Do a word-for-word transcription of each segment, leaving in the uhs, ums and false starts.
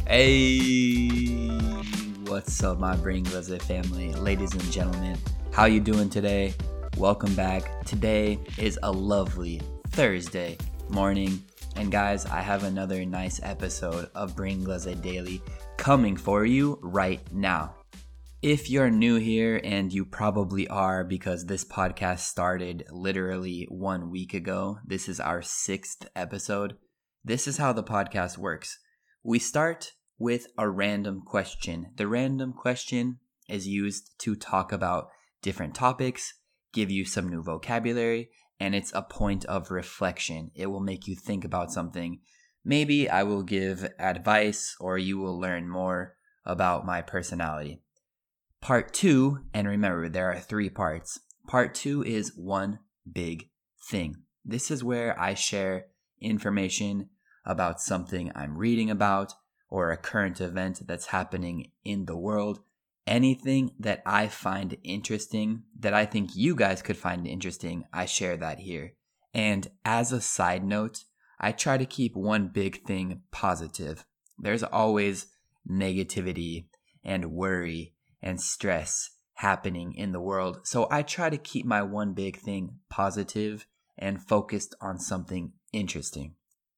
Hey, what's up, my Bring Leslie family, ladies and gentlemen? How you doing today? Welcome back. Today is a lovely Thursday morning, and guys, I have another nice episode of Bring Leslie Daily coming for you right now. If you're new here, and you probably are because this podcast started literally one week ago, this is our sixth episode. This is how the podcast works. We start with a random question. The random question is used to talk about different topics, give you some new vocabulary, and it's a point of reflection. It will make you think about something. Maybe I will give advice or you will learn more about my personality. Part two, and remember there are three parts. Part two is one big thing. This is where I share information about something I'm reading about or a current event that's happening in the world. Anything that I find interesting, that I think you guys could find interesting, I share that here. And as a side note, I try to keep one big thing positive. There's always negativity and worry and stress happening in the world. So I try to keep my one big thing positive and focused on something interesting.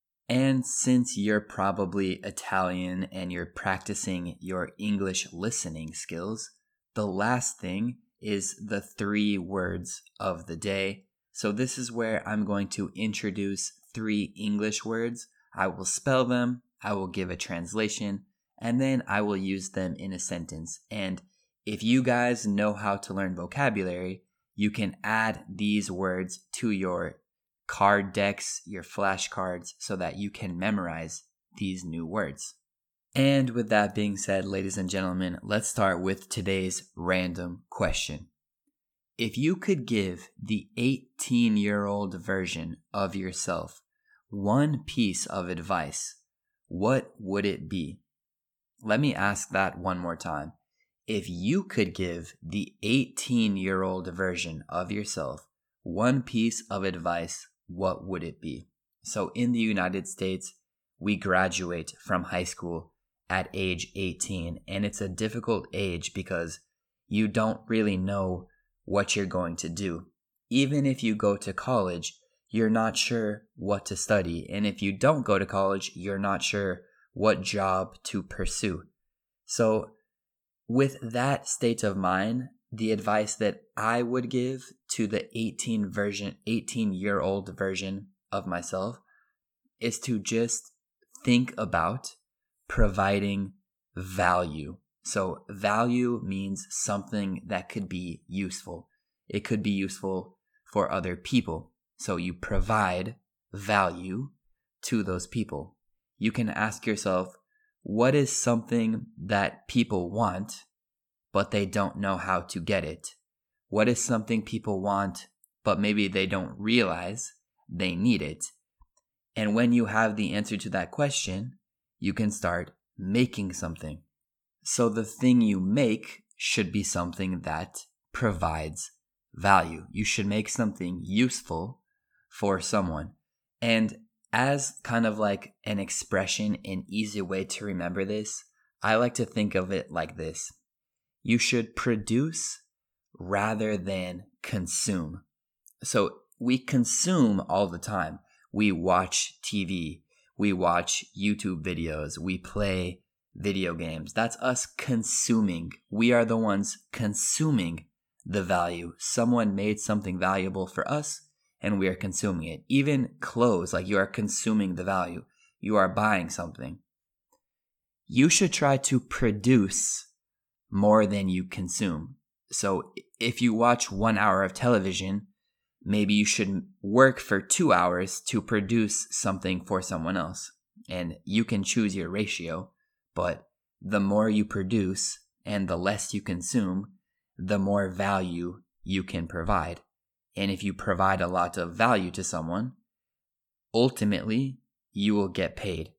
And since you're probably Italian and you're practicing your English listening skills, the last thing is the three words of the day. So this is where I'm going to introduce three English words. I will spell them, I will give a translation, and then I will use them in a sentence. And if you guys know how to learn vocabulary, you can add these words to your card decks, your flashcards, so that you can memorize these new words. And with that being said, ladies and gentlemen, let's start with today's random question. If you could give the eighteen-year-old version of yourself one piece of advice, what would it be? Let me ask that one more time. If you could give the eighteen-year-old version of yourself one piece of advice, what would it be? So in the United States, we graduate from high school at age eighteen, and it's a difficult age because you don't really know what you're going to do. Even if you go to college, you're not sure what to study, and if you don't go to college, you're not sure what job to pursue. So with that state of mind, the advice that I would give to the eighteen version, eighteen-year-old version of myself is to just think about providing value. So value means something that could be useful. It could be useful for other people. So you provide value to those people. You can ask yourself, what is something that people want, but they don't know how to get it? What is something people want, but maybe they don't realize they need it? And when you have the answer to that question, you can start making something. So the thing you make should be something that provides value. You should make something useful for someone. And as kind of like an expression, an easy way to remember this, I like to think of it like this. You should produce rather than consume. So we consume all the time. We watch T V, we watch YouTube videos, we play video games. That's us consuming. We are the ones consuming the value. Someone made something valuable for us and we are consuming it. Even clothes, like you are consuming the value. You are buying something. You should try to produce more than you consume. So if you watch one hour of television, maybe you should work for two hours to produce something for someone else. And you can choose your ratio, but the more you produce and the less you consume, the more value you can provide. And if you provide a lot of value to someone, ultimately you will get paid.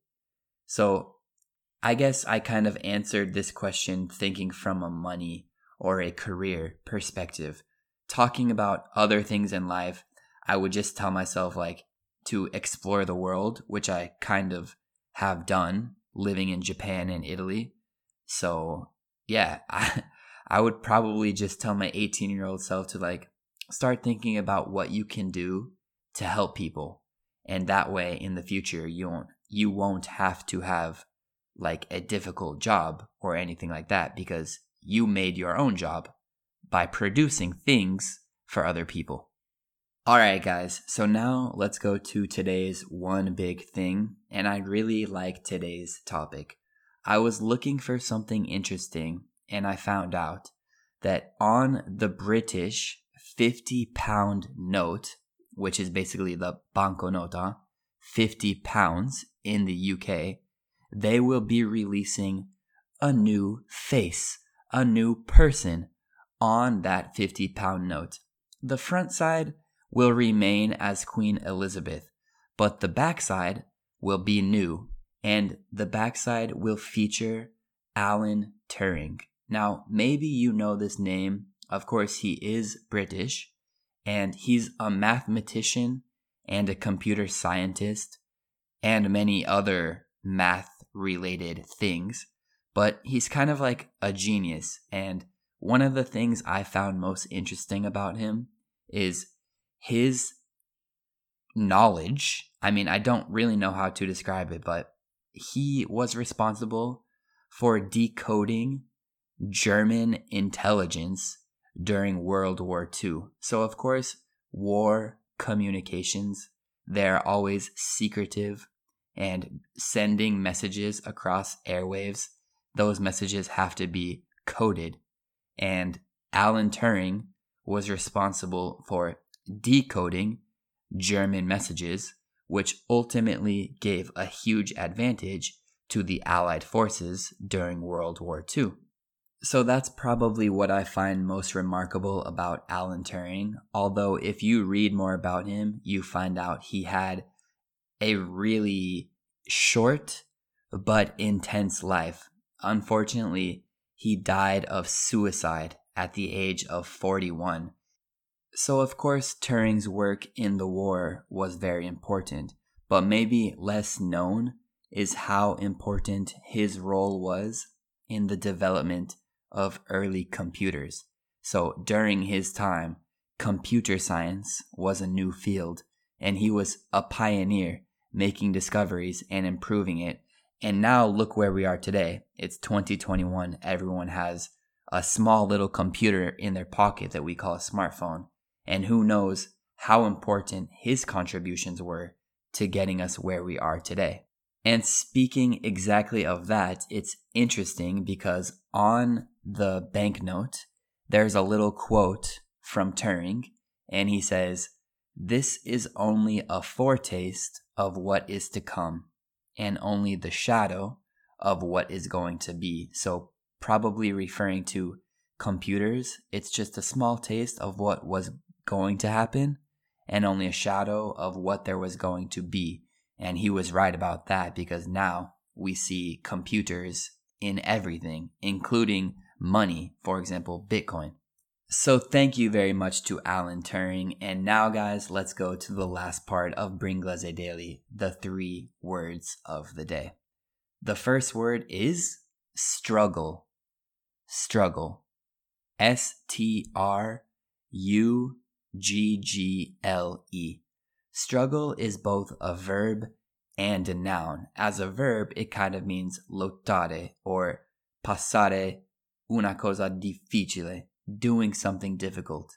So I guess I kind of answered this question thinking from a money or a career perspective. Talking about other things in life, I would just tell myself like to explore the world, which I kind of have done living in Japan and Italy. So yeah, I, I would probably just tell my eighteen year old self to like start thinking about what you can do to help people. And that way in the future, you won't, you won't have to have like a difficult job or anything like that because you made your own job by producing things for other people. All right, guys. So now let's go to today's one big thing. And I really like today's topic. I was looking for something interesting and I found out that on the British fifty pound note, which is basically the banconota, fifty pounds in the U K, they will be releasing a new face, a new person on that fifty pound note. The front side will remain as Queen Elizabeth, but the backside will be new, and the backside will feature Alan Turing. Now, maybe you know this name. Of course, he is British, and he's a mathematician and a computer scientist and many other math-related things, but he's kind of like a genius, and one of the things I found most interesting about him is his knowledge. I mean, I don't really know how to describe it, but he was responsible for decoding German intelligence during World War Two. So, of course, war communications, they're always secretive and sending messages across airwaves. Those messages have to be coded. And Alan Turing was responsible for decoding German messages, which ultimately gave a huge advantage to the Allied forces during World War Two. So that's probably what I find most remarkable about Alan Turing, although if you read more about him, you find out he had a really short but intense life. Unfortunately, he died of suicide at the age of forty-one. So of course, Turing's work in the war was very important, but maybe less known is how important his role was in the development of early computers. So during his time, computer science was a new field, and he was a pioneer making discoveries and improving it. And now look where we are today. It's twenty twenty-one. Everyone has a small little computer in their pocket that we call a smartphone. And who knows how important his contributions were to getting us where we are today. And speaking exactly of that, it's interesting because on the banknote, there's a little quote from Turing, and he says, "This is only a foretaste of what is to come, and only the shadow of what is going to be." So probably referring to computers, it's just a small taste of what was going to happen and only a shadow of what there was going to be. And he was right about that, because now we see computers in everything, including money, for example, Bitcoin. So thank you very much to Alan Turing. And now, guys, let's go to the last part of Bringlese Daily, the three words of the day. The first word is struggle. Struggle. S T R U G G L E. Struggle is both a verb and a noun. As a verb, it kind of means lottare or passare una cosa difficile, doing something difficult.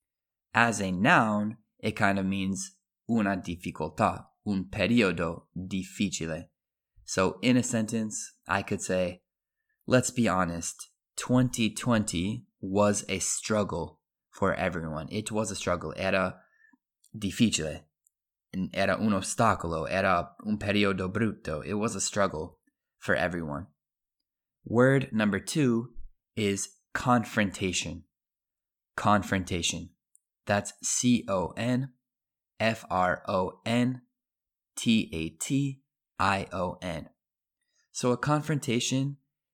As a noun, it kind of means una difficoltà, un periodo difficile. So in a sentence, I could say, let's be honest, twenty twenty was a struggle for everyone. It was a struggle. Era difficile. Era un ostacolo. Era un periodo brutto. It was a struggle for everyone. Word number two is confrontation. Confrontation. That's C O N F R O N T A T I O N. So a confrontation,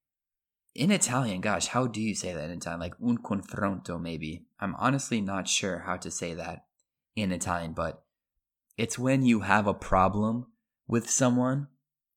in Italian, gosh, how do you say that in Italian? Like un confronto, maybe. I'm honestly not sure how to say that in Italian, but it's when you have a problem with someone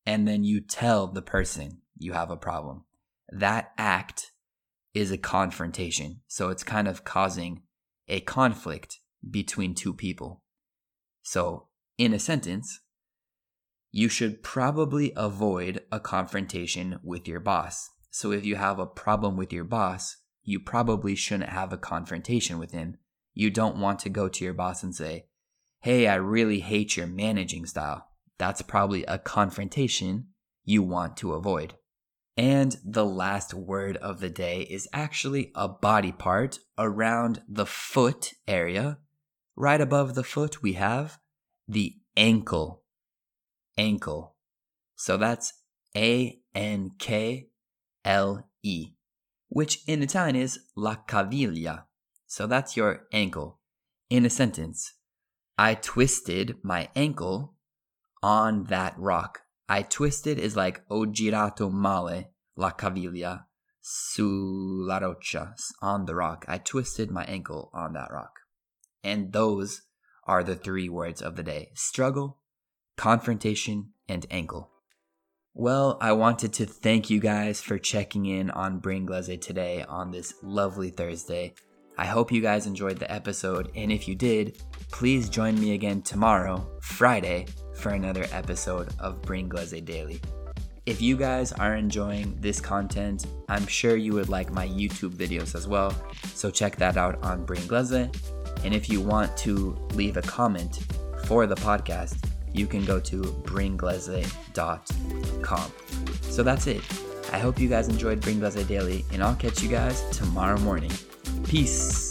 and then you tell the person you have a problem. That act is a confrontation. So it's kind of causing a conflict between two people. So in a sentence, you should probably avoid a confrontation with your boss. So if you have a problem with your boss, you probably shouldn't have a confrontation with him. You don't want to go to your boss and say, hey, I really hate your managing style. That's probably a confrontation you want to avoid. And the last word of the day is actually a body part around the foot area. Right above the foot, we have the ankle. Ankle. So that's A N K L E, which in Italian is la caviglia. So that's your ankle. In a sentence, I twisted my ankle on that rock. I twisted is like ho girato male la caviglia sulla roccia, on the rock. I twisted my ankle on that rock. And those are the three words of the day: struggle, confrontation, and ankle. Well, I wanted to thank you guys for checking in on Bringlese today on this lovely Thursday. I hope you guys enjoyed the episode, and if you did, please join me again tomorrow, Friday, for another episode of Bringlese Daily. If you guys are enjoying this content, I'm sure you would like my YouTube videos as well, so check that out on Bringlese. And if you want to leave a comment for the podcast, you can go to bringlese dot com. So that's it. I hope you guys enjoyed Bringlese Daily, and I'll catch you guys tomorrow morning. Peace.